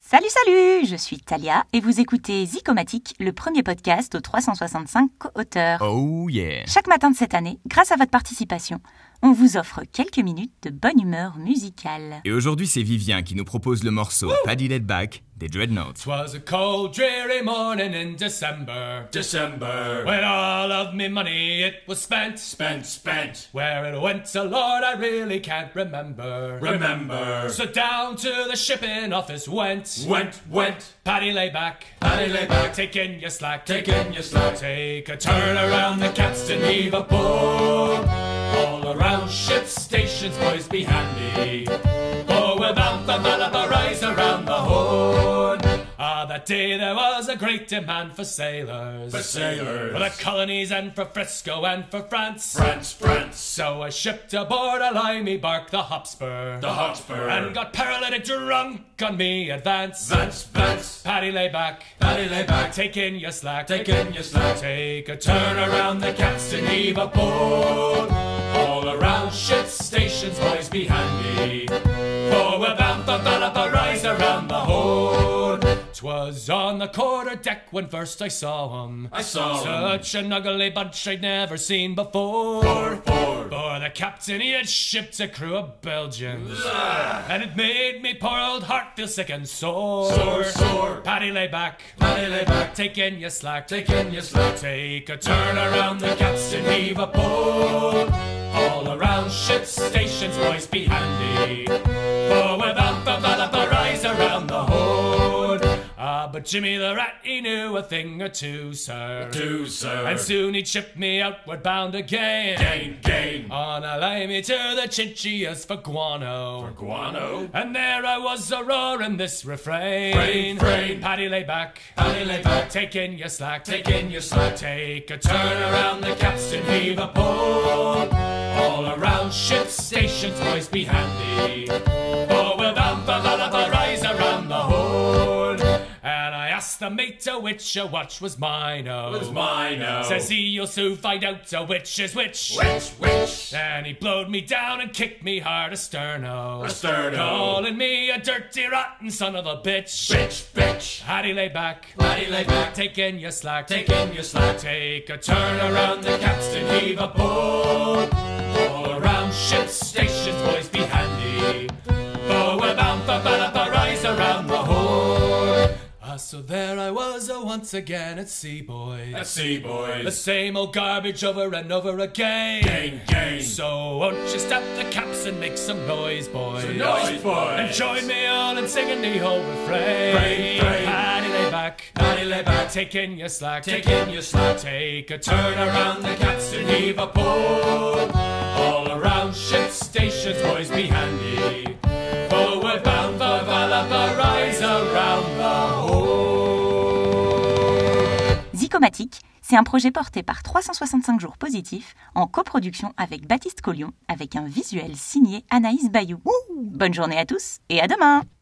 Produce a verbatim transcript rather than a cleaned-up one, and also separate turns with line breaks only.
Salut, salut! Je suis Talia et vous écoutez Zicomatique, le premier podcast aux trois cent soixante-cinq co-auteurs.
Oh yeah!
Chaque matin de cette année, grâce à votre participation, on vous offre quelques minutes de bonne humeur musicale.
Et aujourd'hui, c'est Vivien qui nous propose le morceau Paddy Laid Back des Dreadnoughts.
'Twas a cold, dreary morning in December, December, when all of me money it was spent, spent, spent. Where it went, so Lord, I really can't remember, remember. So down to the shipping office went, went, went. Paddy lay back, Paddy lay back, taking your slack, taking your slack. Take a turn around the capstan, heave a board. All around ship stations, boys, be handy. For we're bound for Malabar, rise around the horn. Ah, that day there was a great demand for sailors, for sailors, for the colonies and for Frisco and for France, France, France. So I shipped aboard a limey bark, the Hotspur, the Hotspur, and got paralytic drunk on me advance, Vance, Vance. Paddy lay back, Paddy lay back, taking your slack, taking your slack. Take a turn around the capstan, heave a board. All around ship stations, boys, be handy. For we're bound for Valapa, rise around the horn. 'Twas on the quarter deck when first I saw him. I saw Such him. An ugly bunch I'd never seen before. Four, four. For the captain, he had shipped a crew of Belgians. Ugh. And it made me poor old heart feel sick and sore. Sore, sore. Paddy lay back, Paddy lay back, taking your slack, taking your slack. Take a turn around the capstan, heave a board. All around ship stations, boys, be handy. For we're bound for Valapa, rise around the horn. Ah, but Jimmy the Rat, he knew a thing or two, sir. Two, sir. And soon he'd ship me outward bound again. Gain, gain. On a limey to the Chinchillas for guano. For guano. And there I was a-roaring this refrain. Frain, frain. Paddy lay back, Paddy lay back, taking your slack, taking your slack. Take a turn around the capstan, heave a board. All around ship stations, boys, be handy. For we're bound for Valapa, rise around the horn. And I asked the mate a which a watch was mine, oh. Was mine, oh. Says he, you'll soon find out a which is which. Which, which. Then he blowed me down and kicked me hard asterno. Asterno. Calling me a dirty, rotten son of a bitch. Bitch, bitch. Paddy lay back, Paddy lay back, taking your slack, taking your slack. Take a turn around the capstan, heave a board. All around ship stations, boys, be handy. For we're bound for Valapa, rise around the horn. Ah, so there I was, oh, once again at sea, boys. At sea, boys. The same old garbage over and over again. Gain, gain. So won't you stop the caps and make some noise, boys? Some noise, boys. And join me on in singing the whole refrain. Frain, frain. Paddy lay back, Paddy lay back, taking your slack, taking your slack. Take a turn around the capstan, heave a board. All around ship stations, boys, be handy. For we're bound for Valapa, rise around the horn.
Zicomatique, c'est un projet porté par trois cent soixante-cinq jours positifs en coproduction avec Baptiste Collion avec un visuel signé Anaïs Bayou. Ouh. Bonne journée à tous et à demain!